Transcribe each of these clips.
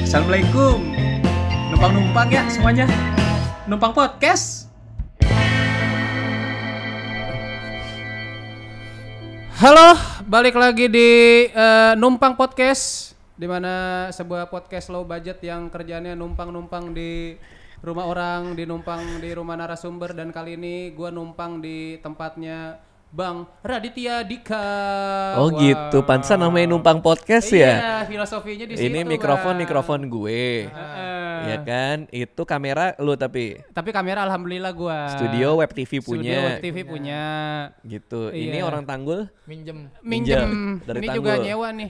Assalamualaikum. Numpang-numpang ya semuanya. Numpang podcast. Halo, balik lagi di Numpang Podcast, di mana sebuah podcast low budget yang kerjaannya numpang-numpang di rumah orang, numpang di rumah narasumber, dan kali ini gua numpang di tempatnya Bang Raditya Dika. Oh wow. Gitu, pantesan namanya Numpang Podcast ya? Iya, filosofinya di situ. Ini mikrofon gue. Ya kan, itu kamera lu tapi kamera alhamdulillah gua. Studio Web TV punya. Studio Web TV punya. Gitu. Iya. Ini orang Tanggul minjem dari ini Tanggul. juga nyewa nih.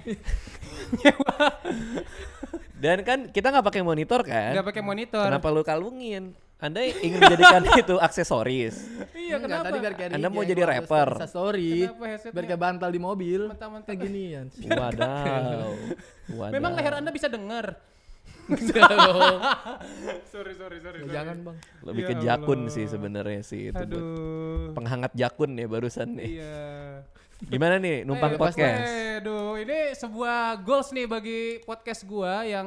Dan kan kita nggak pakai monitor kan? Nggak pakai monitor. Kenapa lu kalungin? Anda ingin menjadikan itu aksesoris? Iya, kenapa? Tadi biar kayak Anda mau jadi rapper? Sorry. Headsetnya? Biar kayak bantal di mobil. Mentah-mentah Kayak ginian. Wadaw. Memang leher Anda bisa dengar. sorry. Jangan bang. Lebih Ya ke jakun Allah. sih sebenarnya sih itu. Aduh. Penghangat jakun ya barusan nih. Iya. Gimana nih Numpang Podcast? Aduh, ini sebuah goals nih bagi podcast gua yang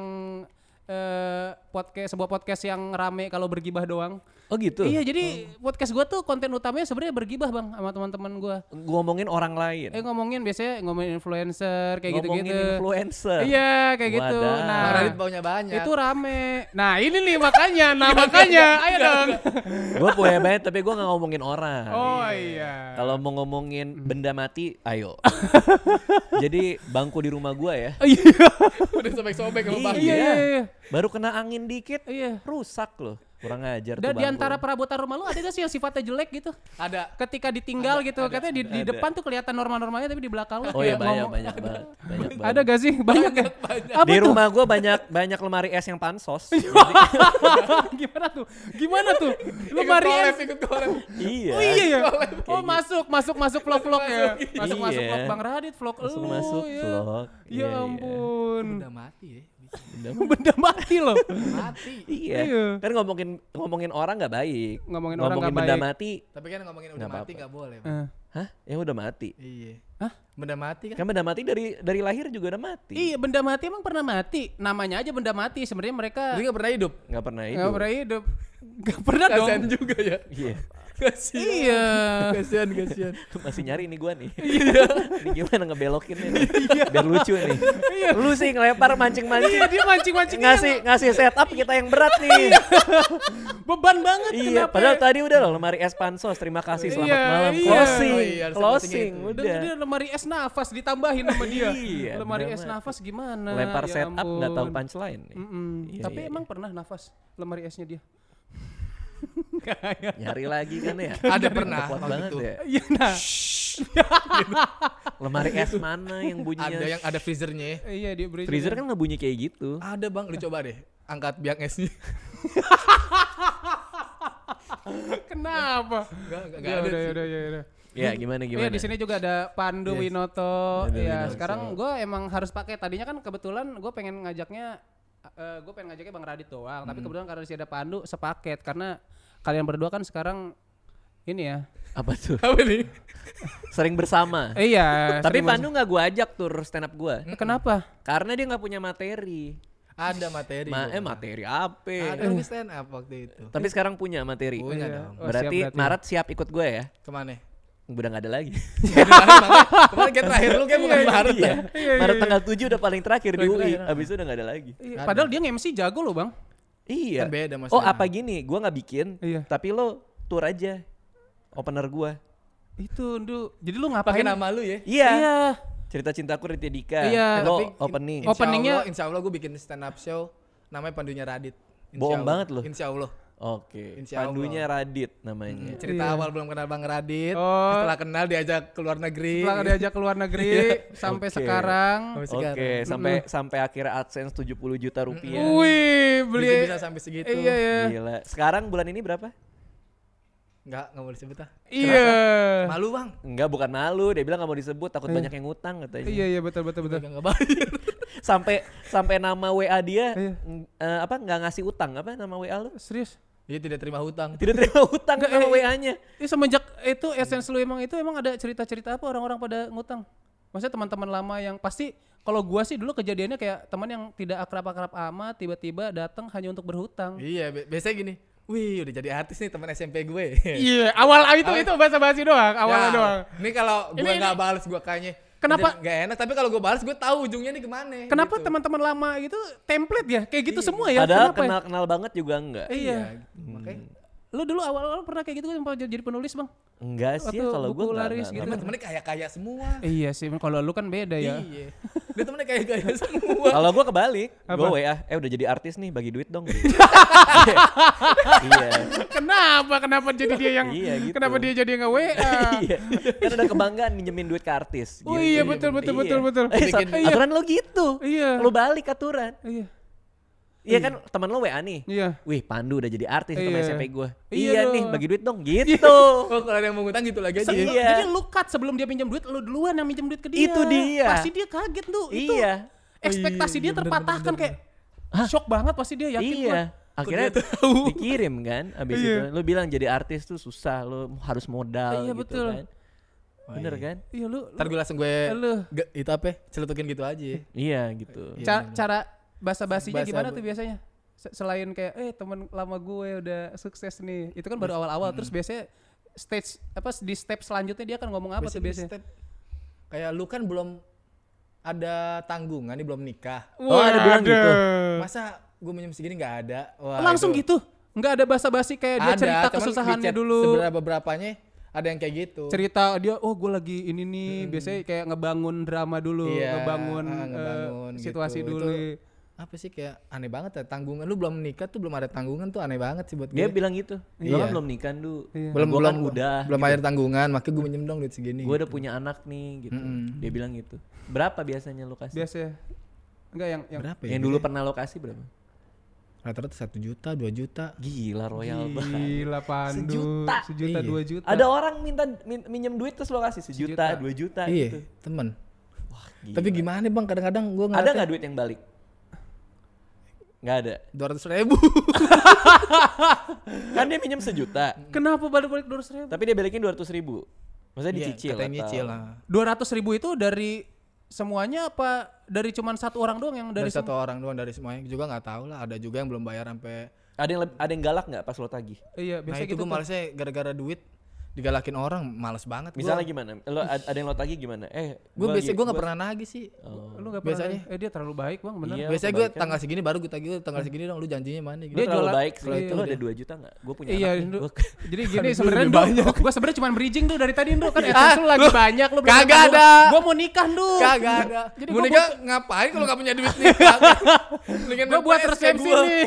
sebuah podcast yang rame kalau bergibah doang. Oh gitu? Iya, jadi podcast gua tuh konten utamanya sebenarnya bergibah bang sama teman-teman gua. Ngomongin orang lain. Biasanya ngomongin influencer kayak gitu-gitu. Ngomongin influencer. Iya, kayak gitu. Wadaw. Nah, Bang Radit baunya banyak. itu rame. Nah, ini nih makanya. Ayo dong. Gue punya banget tapi gue gak ngomongin orang. Oh iya. Kalau mau ngomongin benda mati, ayo. Jadi bangku di rumah gue ya. Iya. Udah sobek-sobek sama bang. Iya. Baru kena angin dikit, Iya. rusak loh. Kurang ajar tuh Dan bangku. di antara perabotan rumah lu ada gak sih yang sifatnya jelek gitu? Ada. Ketika ditinggal gitu, katanya di depan tuh kelihatan normal-normalnya tapi di belakang lu Oh iya kayak banyak banget. Ada gak sih? Banyak ya? Apa Di tuh? rumah gue banyak lemari es yang pansos. Gimana tuh? Lemari es. Ikut collab. Iya. Oh iya ya. Oh masuk vlog ya. Masuk Iya. vlog Bang Radit, vlog lu. Masuk ya. vlog. Ya ampun. Udah mati ya. Benda mati loh. Mati. Iya. Iya. Kan ngomongin orang nggak baik. Ngomongin orang nggak benda baik. mati. Tapi kan ngomongin udah Nggak mati apa-apa. nggak boleh. Bang. Hah? Yang udah mati. Iya. Hah? Benda mati kan? Kan benda mati dari lahir juga udah mati. Iya, benda mati emang pernah mati. Namanya aja benda mati. Sebenarnya mereka Jadi nggak pernah hidup. Nggak pernah nggak hidup. pernah hidup. Nggak pernah dong. Kasian juga ya. Iya. Kasian. Iya. Kasian. Masih nyari nih gua nih. Ini gimana ngebelokinnya nih. Biar lucu nih. Lu sih ngelempar mancing-mancing. Iya, dia mancing-mancing Ngasih setup kita yang berat nih. beban banget. Iya, Kenapa? padahal tadi udah loh lemari es pansos. Terima kasih, selamat Iya, malam. iya. Closing. Oh iya, harus Closing seperti Dan udah. dia lemari es nafas ditambahin sama dia. Iya, Lemari bener es banget. nafas gimana? Lempar Ya setup nggak tahu ampun. punchline nih. Iya, Tapi iya, emang pernah nafas lemari esnya dia? Nyari lagi kan ya. Ada pernah Kuat waktu banget itu. ya. Iya nah. Lemari es mana yang bunyinya? Ada yang ada freezernya ya. Iya dia beri. Freezer kan nggak bunyi kayak gitu. Ada bang, lu coba deh. Angkat biang esnya. Kenapa? Enggak Ya ada. udah. Ya gimana. Iya di sini juga ada Pandu Winoto. Pandu Ya Winoto. sekarang gue emang harus pakai. Tadinya kan kebetulan gue pengen ngajaknya Bang Radit doang. Tapi kebetulan karena di sini ada Pandu sepaket karena kalian berdua kan sekarang ini ya. Apa tuh? Apa nih? Sering bersama. Iya. Tapi sering Pandu nggak gue ajak tur stand up gue. Kenapa? Karena dia nggak punya materi. Ada materi. Materi apa? Ada lagi stand up waktu itu. Tapi sekarang punya materi. Punya Iya. dong. Oh, Berarti siap Maret siap ikut gue ya? Kemana? Udah nggak ada lagi. Kemarin kayak terakhir lu kayak bukan Maret ya. Maret tanggal 7 udah paling terakhir di Paling UI. terakhir. Abis itu udah nggak ada lagi. Iya, padahal dia nge-MC jago loh bang. Iya. Kan beda maksudnya. Oh apa gini? Gue nggak bikin. Iya. Tapi lo tour aja. Opener gue. Itu jadi lu ngapain? Pakai nama lu ya. Iya. Iya. Cerita cintaku Raditya Dika. Iya. Lo Tapi opening. Openingnya- Insya Allah gue bikin stand up show namanya Pandunya Radit. Insya Bohong Allah. banget lu. Insya Allah. Oke. Insya Allah. Pandunya Radit namanya. Cerita Iya. awal belum kenal Bang Radit. Oh. Setelah kenal diajak ke luar negeri. Setelah diajak ke luar negeri sampai Oke. sekarang. Oke, sampai akhirnya AdSense 70 juta rupiah. Wih, beli Bisa sampai segitu. Iya ya. Gila. Sekarang bulan ini berapa? Enggak mau disebut ah. Iya. Malu Bang. Enggak, bukan malu. Dia bilang nggak mau disebut, takut banyak yang ngutang katanya. Iya betul. Enggak bayar. Sampai nama WA dia Iya. nggak ngasih utang, apa nama WA lu? Serius? Dia tidak terima hutang. Tidak terima utang sama WA-nya. Semenjak itu Essence lu emang ada cerita-cerita apa orang-orang pada ngutang? Maksudnya teman-teman lama yang pasti Kalau gua sih dulu kejadiannya kayak teman yang tidak akrab-akrab amat tiba-tiba datang hanya untuk berhutang. Iya, biasanya gini. Wih, udah jadi artis nih teman SMP gue. Iya, awal itu basa-basi doang, awalnya Ya, doang. Ini kalau gue Ini- nggak balas gue kayaknya Kenapa- nggak enak, tapi kalau gue balas gue tahu ujungnya nih kemana. Kenapa gitu. teman-teman lama itu template ya? Kayak gitu semua ya? Padahal Kenapa ya? kenal banget juga enggak. Iya. Makanya Lu dulu awal-awal pernah kayak gitu kan jadi penulis, Bang? Enggak sih Waktu kalau buku gue laris gitu. temen-temennya kaya-kaya semua. Iya sih, kalau lu kan beda ya. Iya. Dia temennya kaya-kaya semua. Kalau gue kebalik, Apa? gue WA, udah jadi artis nih, bagi duit dong. Iya. Kenapa jadi dia yang Iya, gitu. kenapa dia jadi nge WA? Iya. Kan ada kebanggaan minjemin duit ke artis. Oh gitu. iya, betul. Iya. Aturan lo gitu. Iya. Lo balik aturan. Iya. Iya kan teman lo WA nih. Iya. Wih, Pandu udah jadi artis teman Iya. SMP gue. Iya Iya dong. nih, bagi duit dong gitu. Oh, kalau ada yang mau ngutang gitu lagi aja. Iya. Jadi lu cut sebelum dia pinjam duit, lu duluan yang minjem duit ke dia. Itu dia. Pasti dia kaget tuh. Itu Iya. ekspektasi dia terpatahkan kayak shock banget pasti dia yakin gua. Iya. Akhirnya dikirim kan. Abis Iya. itu lu bilang jadi artis tuh susah, lu harus modal Iya, gitu betul. kan. Bener kan? Iya lu. Ntar gue langsung gue Lu. itu apa? Celutukin gitu aja. Iya gitu. Cara basa-basinya Basa- gimana tuh biasanya? Selain kayak teman lama gue udah sukses nih. Itu kan baru awal-awal terus biasanya di step selanjutnya dia akan ngomong apa tuh biasanya? Step, kayak lu kan belum ada tanggungan nih, belum nikah. Oh, ada bilang gitu. Masa gue minjem segini nggak ada? Wah, Langsung itu. gitu? Nggak ada basa-basi kayak dia Ada, cerita cuman kesusahannya di chat dulu. beberapanya ada yang kayak gitu. Cerita dia, oh gue lagi ini nih, biasanya kayak ngebangun drama dulu, Iya, ngebangun, ngebangun situasi gitu. dulu. Itu apa sih kayak aneh banget ya, tanggungan lu belum nikah tuh belum ada tanggungan tuh aneh banget sih buat Dia gue. bilang gitu. Iya. Gua kan belum nikah dulu. Iya. belum Gua kan belum udah. belum gitu. bayar tanggungan, makanya gue minjem dong duit segini. Gue udah punya anak nih gitu. Dia bilang gitu. Berapa biasanya lo kasih? Biasanya. Enggak yang berapa ya? Yang dulu pernah lo kasih berapa? Rata-rata 1 juta, 2 juta. Gila royal banget. gila Pandu. Sejuta. Sejuta, Iya. 2 juta. Ada orang minjem duit terus lo kasih 1 juta, 2 juta Iya, gitu. temen. Wah, gila. Tapi gimana bang, kadang-kadang gue Ada nggak duit yang balik? Nggak ada. 200.000. Kan dia minjem 1 juta, Kenapa balik-balik 200.000? tapi dia balikin 200.000. Maksudnya dicicil Katanya atau? nyicil lah. 200.000 itu dari semuanya apa dari cuman satu orang doang yang Dari dari satu orang doang, dari semuanya juga nggak tahu lah. Ada juga yang belum bayar sampai. Ada yang galak nggak pas lo tagih? Iya, Nah biasanya itu gitu. gue tuh. malesnya gara-gara duit digalakin orang, males banget. Misalnya gimana? Lo ada yang lo tagih gimana? gue biasanya gue nggak pernah nagih sih. Oh. Lu enggak pernah. biasanya. Dia terlalu baik, Bang, bener. Iya. Biasanya gue kebaikan. tanggal segini baru gue tagih, tanggal segini dong lu janjinya mana gitu. Dia terlalu jualan- baik sih. iya, Lo udah. ada 2 juta nggak? Gue punya Iya, anak nih. Nduk. Gua- Jadi gini sebenarnya gue sebenarnya cuma bridging tuh dari tadi Nduk kan AdSense lu lagi banyak lu belum Kagak makan, ada. Gue mau nikah Nduk. Kagak ada. Jadi Mau gua nikah ngapain kalau nggak punya duit nikah? Gue buat resepsi nih.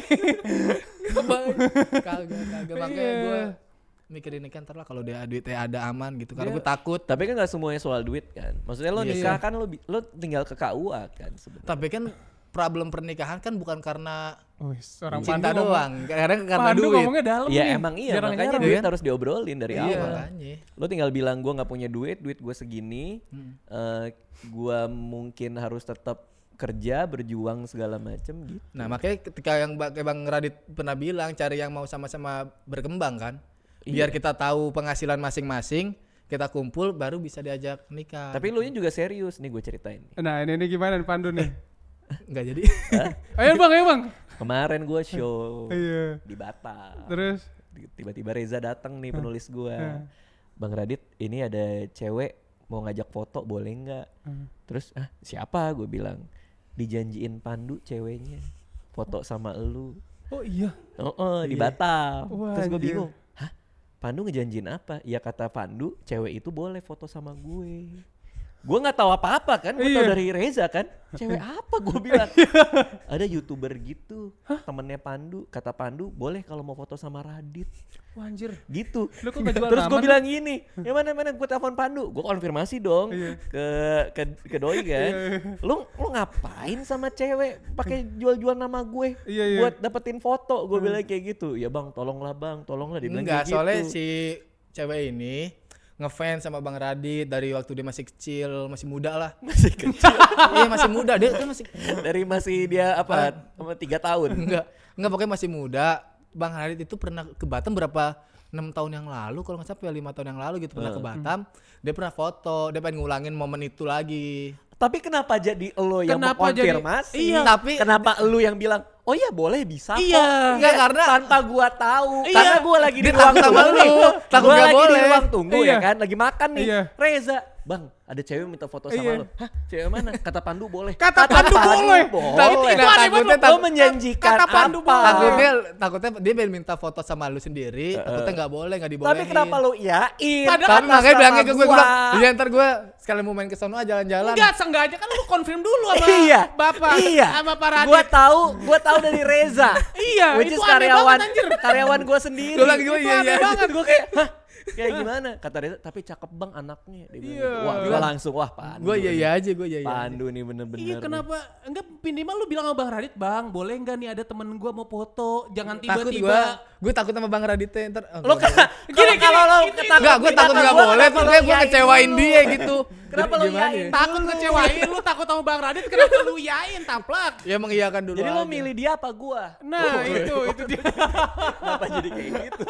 Kagak makanya gue mikirin nikah ntar lah kalau dia duitnya ada aman gitu. Karena gue takut. Tapi kan nggak semuanya soal duit kan. Maksudnya lo Iya. nikah kan lo tinggal ke KUA kan sebenarnya. Tapi kan problem pernikahan kan bukan karena Orang cinta Pandu doang, kadang karena Pandu duit. ngomongnya dalam Iya nih. emang iya, Jarang-jarang. makanya Iya duit kan? harus diobrolin dari Iya awal. makanya. Lo tinggal bilang gue nggak punya duit gue segini, gue mungkin harus tetap kerja berjuang segala macem gitu. Nah makanya ketika yang kayak Bang Radit pernah bilang cari yang mau sama-sama berkembang kan, biar kita tahu penghasilan masing-masing, kita kumpul baru bisa diajak nikah. Tapi lo nya juga serius nih gue ceritain. Nah ini gimana nih Pandu nih? nggak jadi. Ayo Bang. Kemarin gue show Iya. di Batam. Terus Tiba-tiba Reza datang nih penulis gue. Bang Radit ini ada cewek mau ngajak foto boleh nggak? Terus siapa? Gue bilang dijanjiin Pandu ceweknya foto sama elu. oh iya. Di Batam. Wah, Terus gue anjir. bingung. Hah? Pandu ngejanjiin apa? Ya kata Pandu cewek itu boleh foto sama gue. Gue nggak tahu apa-apa kan, gue tahu Iya. dari Reza kan. Cewek apa gue bilang? Ada YouTuber gitu, temennya Pandu. Kata Pandu boleh kalau mau foto sama Radit. Wah anjir. Gitu. Lu kok nggak jual Terus gue nama, bilang gini, yang mana gue telepon Pandu, gue konfirmasi dong ke doi kan. Lu ngapain sama cewek pakai jual-jual nama gue Iya. buat dapetin foto? Gue bilang kayak gitu. Ya bang, tolonglah dia bilang Enggak, kayak soalnya gitu. si cewek ini ngefans sama Bang Radit dari waktu dia masih kecil, masih muda lah. Masih kecil. Iya masih muda, dia kan masih Dari masih dia apa 3 tahun. enggak pokoknya masih muda. Bang Radit itu pernah ke Batam berapa 6 tahun yang lalu kalau nggak salah 5 tahun yang lalu gitu pernah ke Batam. Dia pernah foto, dia pengen ngulangin momen itu lagi. Tapi kenapa jadi lo yang Kenapa jadi- mengkonfirmasi? Iya. Tapi kenapa lu yang bilang, oh iya boleh bisa kok. Iya. Enggak, karena tanpa gua tahu. Iya. Karena gua lagi di Dia ruang takut sama tunggu. lu, takut Gua nggak lagi di boleh. ruang tunggu Iya. ya kan, lagi makan nih. Iya. Reza, Bang, ada cewek minta foto sama Iya. lu. Hah, cewek mana? Kata Pandu boleh. Kata Pandu boleh. Tapi Boleh. itu aneh banget. Lo menjanjikan Kata Pandu apa? boleh. takutnya dia pengen minta foto sama lu sendiri, takutnya nggak boleh, nggak dibolehin. Tapi kenapa lu iyain? Padahal Kan Atas makanya bilangnya nama ke gue gua. bilang, iya ntar gue sekalian mau main ke sono jalan-jalan. Enggak, seenggaknya kan lu konfirm dulu sama Iya. Bapak. Iya. Sama Pak Radit. Gua tahu dari Reza. Iya, Which itu is aneh karyawan banget, anjir. karyawan gua sendiri. Gua lagi, Itu iya, aneh iya. banget. Gue kayak, hah? Kayak gimana? Kata Reza, tapi cakep Bang anaknya. Dia bilang Iya. gitu. Wah, gua langsung, wah Pandu. Gue iya aja, gue iya aja. Pandu nih bener-bener. Iya, kenapa? Enggak, minimal lu bilang sama Bang Radit, Bang, boleh enggak nih ada temen gua mau foto? Jangan Takut tiba-tiba. gue takut sama Bang Raditnya ntar. Lo kalau lo Enggak, gue takut nggak boleh, terus gue ngecewain dia gitu. Kenapa lo Gimana iyain? ya? Takut ngecewain lu, takut sama Bang Radit, kenapa lu yain taplak? Ya mengiyakan dulu. Jadi lo aja. milih dia apa gua? Nah, itu dia. Kenapa jadi kayak gitu?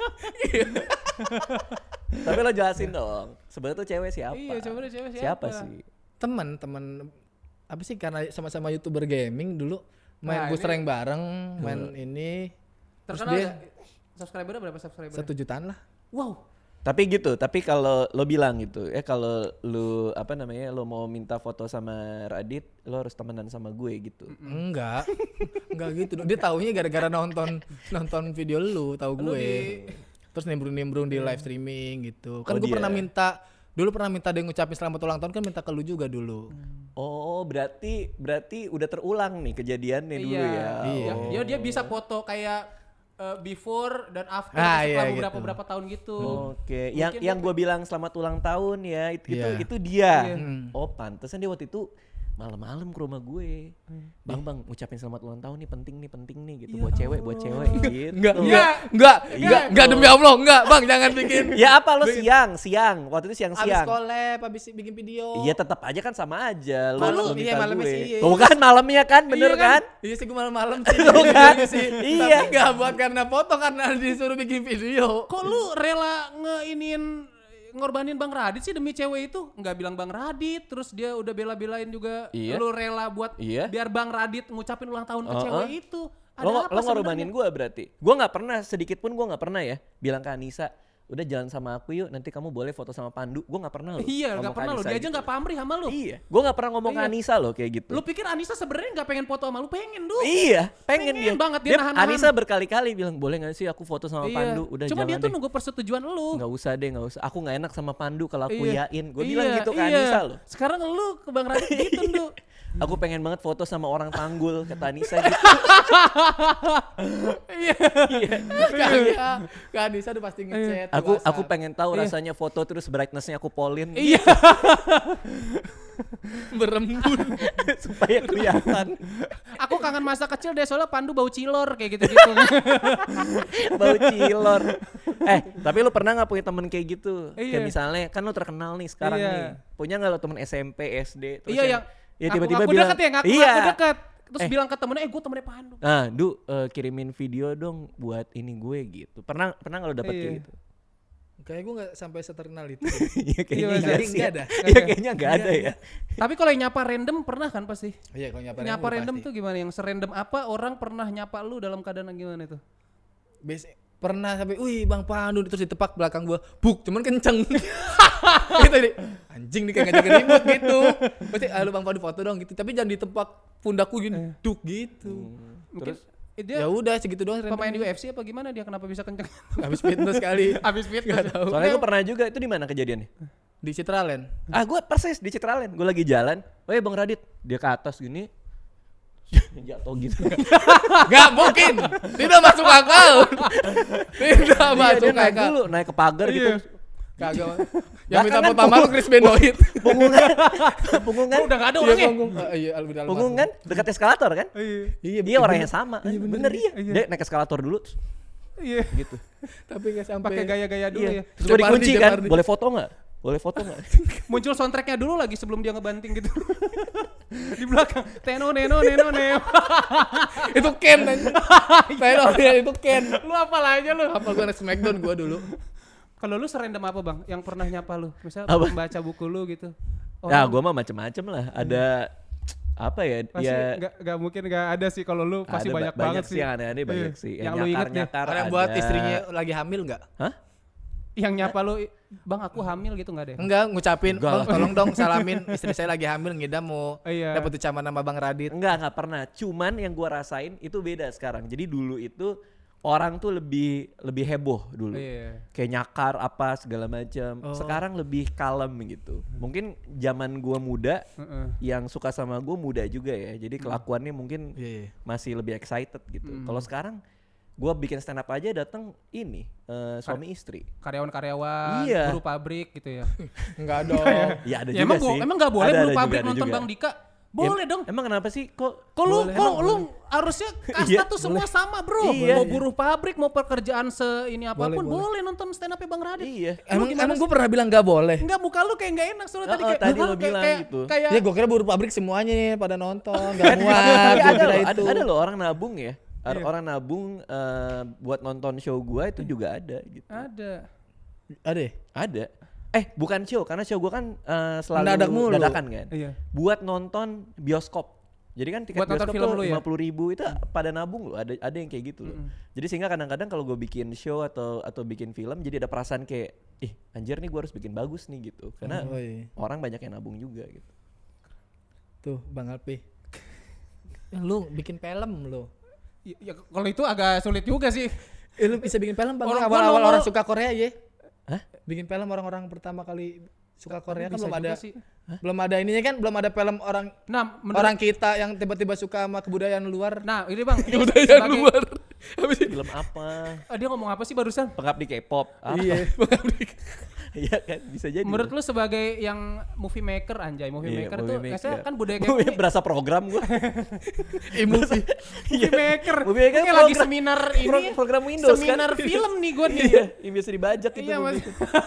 Tapi lo jelasin dong. Sebenarnya tuh cewek siapa? Iya, coba deh cewek Siapa siapa? sih? teman apa sih, karena sama-sama YouTuber gaming dulu main Nah, booster ini- rank bareng, main ini. Terus Terkenal dia nggak? Subscribernya berapa subscriber? 1 jutaan lah. Wow. Tapi gitu, tapi kalau lo bilang gitu, kalau lu apa namanya, lo mau minta foto sama Radit, lo harus temenan sama gue gitu. Enggak. Enggak gitu. Dia taunya gara-gara nonton video lu, tahu Lu gue. di- Terus nimbrung-nimbrung di live streaming gitu. Kan Oh, gue dia. pernah minta dia ngucapin selamat ulang tahun, kan minta ke lu juga dulu. Oh, berarti udah terulang nih kejadiannya dulu Iya. ya. Iya. Oh. Dia bisa foto kayak before dan after Ah, setelah iya, beberapa tahun gitu. Oke, Mungkin yang dia- gue bilang selamat ulang tahun ya, Iya. itu dia. Iya. Oh, pantesan dia waktu itu malam-malam ke rumah gue. Bang, ngucapin selamat ulang tahun nih, penting nih gitu, buat cewek gitu. Enggak, Iya. enggak demi Allah, enggak, Bang, jangan bikin. Ya apa lo siang, waktu itu Abis siang-siang. collab, abis bikin video. Iya tetap aja kan sama aja. Kok lu- Lo iya, minta malamnya gue. sih, iya. Tuh kan malamnya kan, bener Iya kan? kan? Iya sih, gue malam-malam sih. Tuh kan? sih. Iya. Tapi enggak buat karena foto, karena disuruh bikin video. Kok lu rela ngorbanin Bang Radit sih demi cewek itu? Nggak bilang Bang Radit, terus dia udah bela-belain juga. Iya. Lu rela buat Iya. biar Bang Radit ngucapin ulang tahun ke cewek itu. Ada Lo apa ngorbanin gue berarti. Gue nggak pernah, sedikit pun gue nggak pernah ya bilang ke Anissa, udah jalan sama aku yuk, nanti kamu boleh foto sama Pandu. Gue nggak pernah loh. Iya, ngomong nggak ke pernah lo. Anissa Dia aja gitu. nggak pamrih sama lu. Iya, gue nggak pernah ngomong ke Iya. Anissa loh kayak gitu. Lu pikir Anissa sebenarnya nggak pengen foto sama lu? Pengen, Du. Iya, pengen dia. banget, dia nahan-nahan. Anissa berkali-kali bilang, boleh gak sih aku foto sama Iya. Pandu? Udah Cuma jangan dia tuh deh. nunggu persetujuan lu. Nggak usah. Aku nggak enak sama Pandu kalau aku Iya. yain. Gue bilang gitu ke iya. Anissa loh. Sekarang lu ke Bang Radit gitu, Du. Aku pengen banget foto sama orang Tanggul, kata Anissa gitu. Kak Anissa udah pasti ngechat. di Aku WhatsApp. pengen tahu Iya. rasanya foto terus brightness-nya aku polin Iya. berembun. supaya kelihatan Aku kangen masa kecil deh soalnya Pandu bau cilor kayak gitu-gitu. bau cilor. Tapi lu pernah nggak punya temen kayak gitu? Iya. Kayak misalnya kan lu terkenal nih sekarang Iya. nih. Punya nggak lo temen SMP, SD? Terus Iya, yang ya tiba-tiba ngaku bilang, deket ya, ngaku iya. deket. Terus Eh. bilang ke temennya, gue temennya Pandu. Nah, kirimin video dong buat ini gue gitu. Pernah nggak lo dapet Iya. kayak gitu? Kayak gue gak sampai seterkenal itu. Iya kayaknya Iya, enggak jadi sih. nggak ya. ada. Iya kayaknya enggak ada ya. Tapi kalau yang nyapa random pernah kan pasti? Iya, kalau nyapa Nyapa random pasti. tuh gimana? Yang serandom apa orang pernah nyapa lu dalam keadaan gimana itu? Pernah sampai, wih Bang Pandu, terus ditepak belakang gua, buk, cuman kenceng. Gitu nih, anjing nih kayak ngajak ribut gitu. Pasti, lu Bang Pandu foto dong gitu, tapi jangan ditepak pundakku gini, duk gitu. Mungkin Terus dia Ya udah segitu doang. pemain UFC apa gimana dia kenapa bisa kenceng? Habis fitness kali. Habis fit Gak tahu. soalnya gue pernah juga, itu di mana kejadiannya? Di Citraland. Gue persis di Citraland. Gue lagi jalan. Bang Radit, dia ke atas gini. Jatuh gitu. Gak mungkin. Tidak masuk akal. Tidak Dia masuk naik akal. dulu, naik ke pagar gitu. Iya. Kagak. Yang minta Bahkan foto kan sama lu Chris Benoit. Punggungan, Udah gak ada Iya, orangnya. punggung. Iya, Alvin Almarhum. punggungan dekat eskalator kan? Iya, Dia orangnya sama. Bener iya. Iya. Dia naik eskalator dulu terus Iya. gitu. Tapi gak sampai. Pakai gaya-gaya dulu Iya. ya. Terus gue dikunci Jeopardy, kan. Jeopardy. Boleh foto nggak? Boleh foto nggak? Muncul soundtracknya dulu lagi sebelum dia ngebanting gitu. Di belakang. Teno neno neno neo. Itu Ken anjing. Saya itu Ken. Lu apal aja lu. Apa gua anak Smackdown gua dulu. Kalau lu serandom apa bang? Yang pernah nyapa lu? Misal Apa? membaca buku lu gitu. Ya gua mah macem-macem lah. Ada apa ya? Pasti Ya nggak mungkin nggak ada sih kalau lu pasti ada banyak banget sih. Yang aneh-aneh banyak Iya. sih. Yang lu inget deh. nyakar-nyakar Ada yang buat ada. istrinya lagi hamil nggak? Hah? Yang nyapa lu, bang aku hamil gitu nggak deh? Enggak, ngucapin, Enggak bang lah. tolong dong salamin istri saya lagi hamil, ngidam mau Iya. dapet ucapan nama Bang Radit. Enggak pernah. Cuman yang gua rasain itu beda sekarang. Jadi dulu itu orang tuh lebih heboh dulu. Iya. Kayak nyakar apa segala macam. Oh. Sekarang lebih kalem gitu. Mungkin zaman gua muda Heeh. yang suka sama gua muda juga ya. Jadi kelakuannya mungkin Iya. masih lebih excited gitu. Kalau sekarang gua bikin stand up aja datang ini suami istri. Karyawan-karyawan, Iya. buruh pabrik gitu ya. Enggak dong. Ya ada Ya juga emang sih. emang nggak boleh Ada buruh juga, pabrik ada nonton juga. Bang Dika? Boleh dong. Emang kenapa sih kok Kok lu, boleh? lu harusnya kasta Iya, tuh semua sama bro. Iya. Mau buruh pabrik, mau pekerjaan ini apapun, Boleh, boleh nonton stand up-nya Bang Radit. Iya. Emang gue pernah bilang nggak boleh. Enggak, muka lu kayak nggak enak soalnya tadi kayak tadi "Hah?" lo bilang gitu. Kayak Ya gue kira buruh pabrik semuanya nih pada nonton, gak muat. Tapi Gua ada kira loh, itu. ada loh orang nabung ya. Iya. Orang nabung buat nonton show gua itu juga ada gitu. ada. Ada ya? Ada. Bukan show karena show gua kan selalu Mendadak mulu. dadakan kan. Iya. Buat nonton bioskop. Jadi kan tiket Buat nonton bioskop film tuh lu ya? 50.000 itu pada nabung loh. Ada yang kayak gitu loh. Jadi sehingga kadang-kadang kalau gue bikin show atau bikin film jadi ada perasaan kayak anjir nih gua harus bikin bagus nih gitu. Karena Oh, iya. orang banyak yang nabung juga gitu. Tuh Bang Alpi. Lu bikin film lu. Ya, kalau itu agak sulit juga sih. Lu bisa bikin film Bang. Orang- Awal-awal gua orang nongol- suka Korea ya. Hah? Bikin film orang-orang pertama kali suka Korea kan Bisa belum juga ada. sih. Belum ada ininya kan, belum ada film orang Nah, orang kita yang tiba-tiba suka sama kebudayaan luar. Nah, ini Bang, ini Kebudayaan sebagai luar. Apa sih? Film apa? Dia ngomong apa sih barusan? Pengabdi K-pop. Apa? Iya. Iya kan bisa jadi. Menurut lu sebagai yang movie maker anjay, movie Iya, maker movie tuh maker. biasanya kan budaya Movie kayak berasa program gua. Movie. movie maker. Movie maker Kayak lagi program- seminar ini. program Windows kan. Seminar film nih gua nih. Iya, yang biasa dibajak itu. Iya, movie.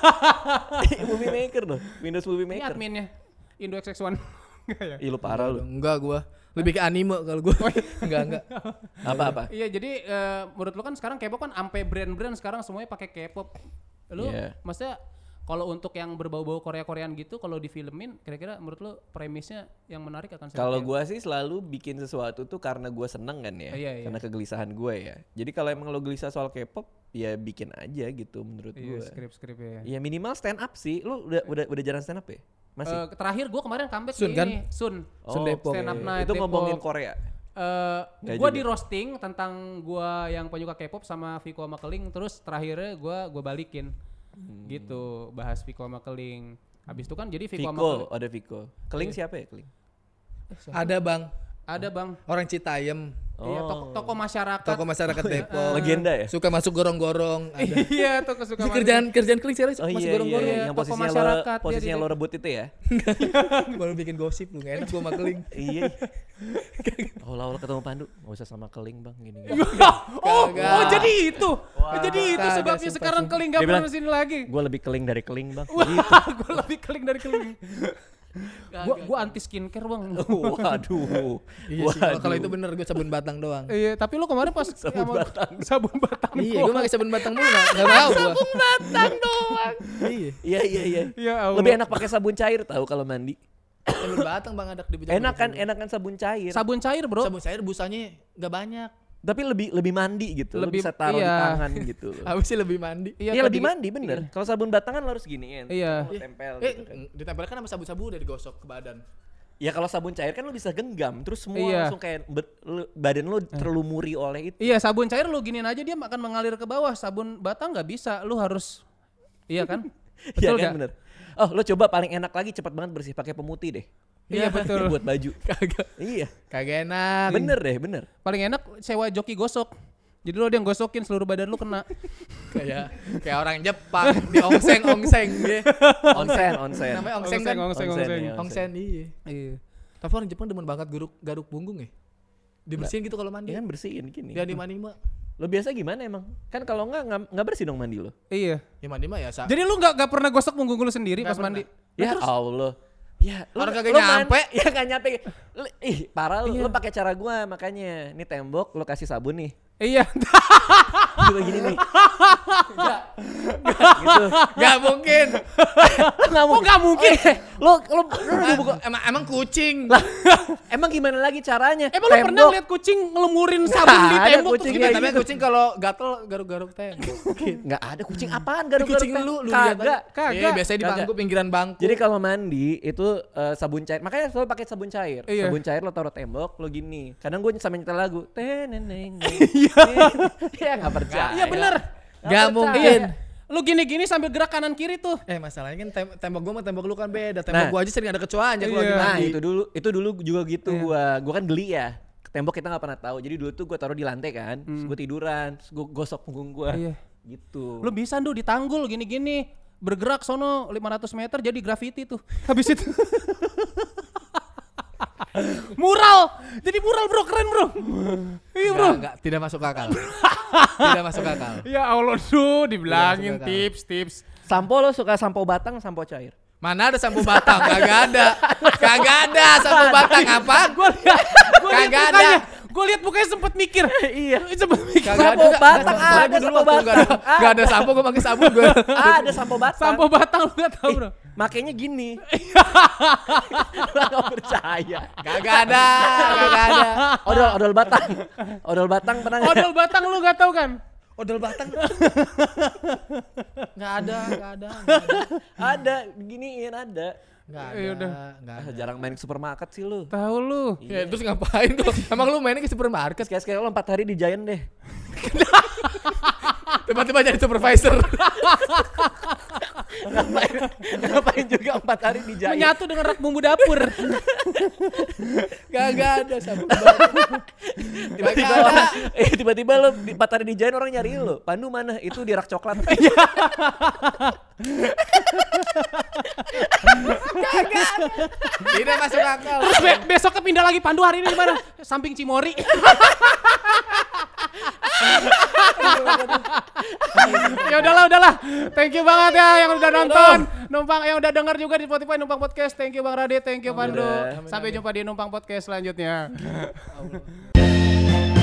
Movie maker loh, Windows Movie Ini Maker. adminnya Indo XX1. Enggak ya? Ih lu parah lu. Enggak gua. Lebih ke anime kalau gua. Enggak. Apa-apa? Iya, jadi menurut lu kan sekarang K-pop kan sampai brand-brand sekarang semuanya pakai K-pop. Lu Iya. maksudnya kalau untuk yang berbau-bau Korea-Koreaan gitu kalau difilmin kira-kira menurut lu premisnya yang menarik akan seperti Kalau apa? gua sih selalu bikin sesuatu tuh karena gua seneng kan ya. Iya, iya. Karena kegelisahan gue ya. Jadi kalau emang lo gelisah soal K-pop, ya bikin aja gitu menurut Iya, gue. skrip-skrip ya. Ya minimal stand up sih. Lu udah jarang stand up ya? Masih? Terakhir gua kemarin comeback Sun di kan? ini, Sun. Sun Depok. Stand up oke. night Itu Depok. ngomongin Korea. Nggak Gua juga. di roasting tentang gua yang penyuka K-pop sama Viko sama Keling, terus terakhirnya gua balikin. Gitu, bahas Viko sama Keling. Habis itu kan jadi Viko sama Keling. Viko, ada Viko. Keling siapa ya Keling? Ada Bang, Ada Bang. orang Citayam, Iya, toko masyarakat. toko masyarakat Depok. Legenda ya? Suka masuk gorong-gorong. Ada. Iya, toko suka Ini kerjaan keling sekarang Oh masuk iya, gorong-gorong. Iya, yang toko posisinya masyarakat, lo, posisinya dia- lo rebut itu ya? Baru bikin gosip lu, gak enak gua sama keling. Iya. Awal-awal ketemu Pandu, nggak usah sama Keling bang, gini. Oh, Kagak. oh jadi itu. Jadi itu Kagak, sebabnya sumpah, sekarang sumpah. Keling gak Dia pernah bilang, sini lagi. Gue lebih Keling dari Keling bang. Gue lebih Keling dari Keling. Gua anti skincare bang. Waduh. Iya sih, kalau itu bener gue sabun batang doang. Iya, tapi lu kemarin pas Sabun batang. sabun batang. Iya, gue pakai sabun batang mulu gak mau gua. Sabun batang doang. Iya, Iya. Ya Allah. Lebih enak pakai sabun cair tahu kalau mandi. sabun batang Bang adak di Enakan sabun cair. Sabun cair, Bro. Sabun cair busanya gak banyak. Tapi lebih mandi gitu. Lo Lebih- bisa taruh di iya. tangan gitu. Habis sih lebih mandi. Iya lebih tadi- mandi bener. Kalau sabun batangan lo harus giniin. Iya. Lo tempel gitu kan. Ditempelkan sama sabu-sabu udah digosok ke badan. Ya kalau sabun cair kan lo bisa genggam. Terus semua Iya. langsung kayak badan lo terlumuri oleh itu. Iya, sabun cair lu giniin aja dia akan mengalir ke bawah. Sabun batang nggak bisa, lu harus iya kan? Iya Betul kan nggak? bener. Oh lo coba paling enak lagi cepat banget bersih pakai pemutih deh. Iya, betul. Buat baju. Kagak. Iya. Kagak enak. Bener deh bener. Paling enak sewa joki gosok. Jadi lo dia yang gosokin seluruh badan lu kena. Kayak orang Jepang di ongseng dia. Onsen. Namanya ongseng kan? Ongseng. ya, Ongseng iya. Iya. Tapi orang Jepang demen banget garuk punggung ya. Dibersihin gitu kalau mandi. Ya kan bersihin gini. Dia di mandi mah. Lo biasa gimana emang? Kan kalau nggak bersih dong mandi lo. Iya. Ya mandi mah ya sa. Jadi lu nggak pernah gosok punggung lu sendiri Nggak pas mandi? Ya Allah. Ya, Orang kagak nyampe. Ya gak nyampe. Ih, parah lu. Lu pakai cara gua makanya. Ini tembok lu kasih sabun nih. Iya. Coba gini nih. Gitu. Gak mungkin. Kok nggak mungkin? Lo Emang kucing. emang gimana lagi caranya? Emang lu pernah lihat kucing ngelumurin sabun di Ada tembok? kucing Terus kayak gitu? Tapi kucing kalau gatel garuk-garuk tembok. Nggak ada kucing apaan garuk-garuk Kucing lu lihat kagak. Iya, biasanya di Kagak. bangku pinggiran bangku. Jadi kalau mandi itu sabun cair. Makanya selalu pakai sabun cair. Iya. Sabun cair lo taruh tembok, lo gini. Kadang gue sampai nyetel lagu. Teneneng. Iya nggak percaya. Iya bener. Gak mungkin. Iya. Lu gini-gini sambil gerak kanan kiri tuh. Masalahnya kan tembok gua sama tembok lu kan beda. Tembok Nah. gua aja sering ada kecoanya kalau Iya. lagi Nah mandi. itu dulu juga gitu Iya. gua kan geli ya. Tembok kita nggak pernah tahu. Jadi dulu tuh gua taruh di lantai kan. Terus gua tiduran, terus gua gosok punggung gua. Iya. Gitu. Lu bisa di tanggul gini-gini. Bergerak sono 500 meter jadi graffiti tuh. Habis itu. Mural. Jadi mural bro, keren bro. Iya bro. Enggak, tidak masuk akal. Tidak masuk akal. Ya Allah tuh dibilangin Iya, masuk akal. tips. Sampo lo suka sampo batang, sampo cair? Mana ada sampo batang? Kagak ada. Kagak ada sampo batang apa? Gue lihat Kagak ada. mukanya. Gue lihat mukanya sempet mikir. Iya. Sempet mikir. Kagak Sampo ada. batang Soalnya ada, gua dulu sampo waktu batang. Enggak ada sampo gua pakai sabun gua. Ada sampo batang. Sampo batang lu gak tahu bro. Makanya gini. Lo gak percaya. Kagak ada. Kagak ada. Odol batang. Odol batang pernah nggak? Odol batang lu gak tahu kan? Odol batang. Enggak ada. Ada, giniin ada. Enggak Ya udah. ada. Enggak ada. Jarang main ke supermarket sih lu. Tahu lu. Ya terus ngapain kok? Emang lu mainnya ke supermarket? Sekali-sekali lo 4 hari di Giant deh. Tiba-tiba jadi supervisor. Ngapain juga 4 hari di Giant. Menyatu dengan rak bumbu dapur. Kagak ada sabun batang. Tiba-tiba tiba-tiba lo 4 hari di Giant orang nyari lo. Pandu mana? Itu di rak coklat. Tidak masuk akal. Terus besoknya pindah lagi Pandu hari ini di mana? Samping Cimori. Ya udahlah. Thank you banget ya yang udah nonton. Numpang yang udah denger juga di Spotify Numpang Podcast. Thank you Bang Radit, thank you Pandu. Udah. Sampai jumpa di Numpang Podcast selanjutnya.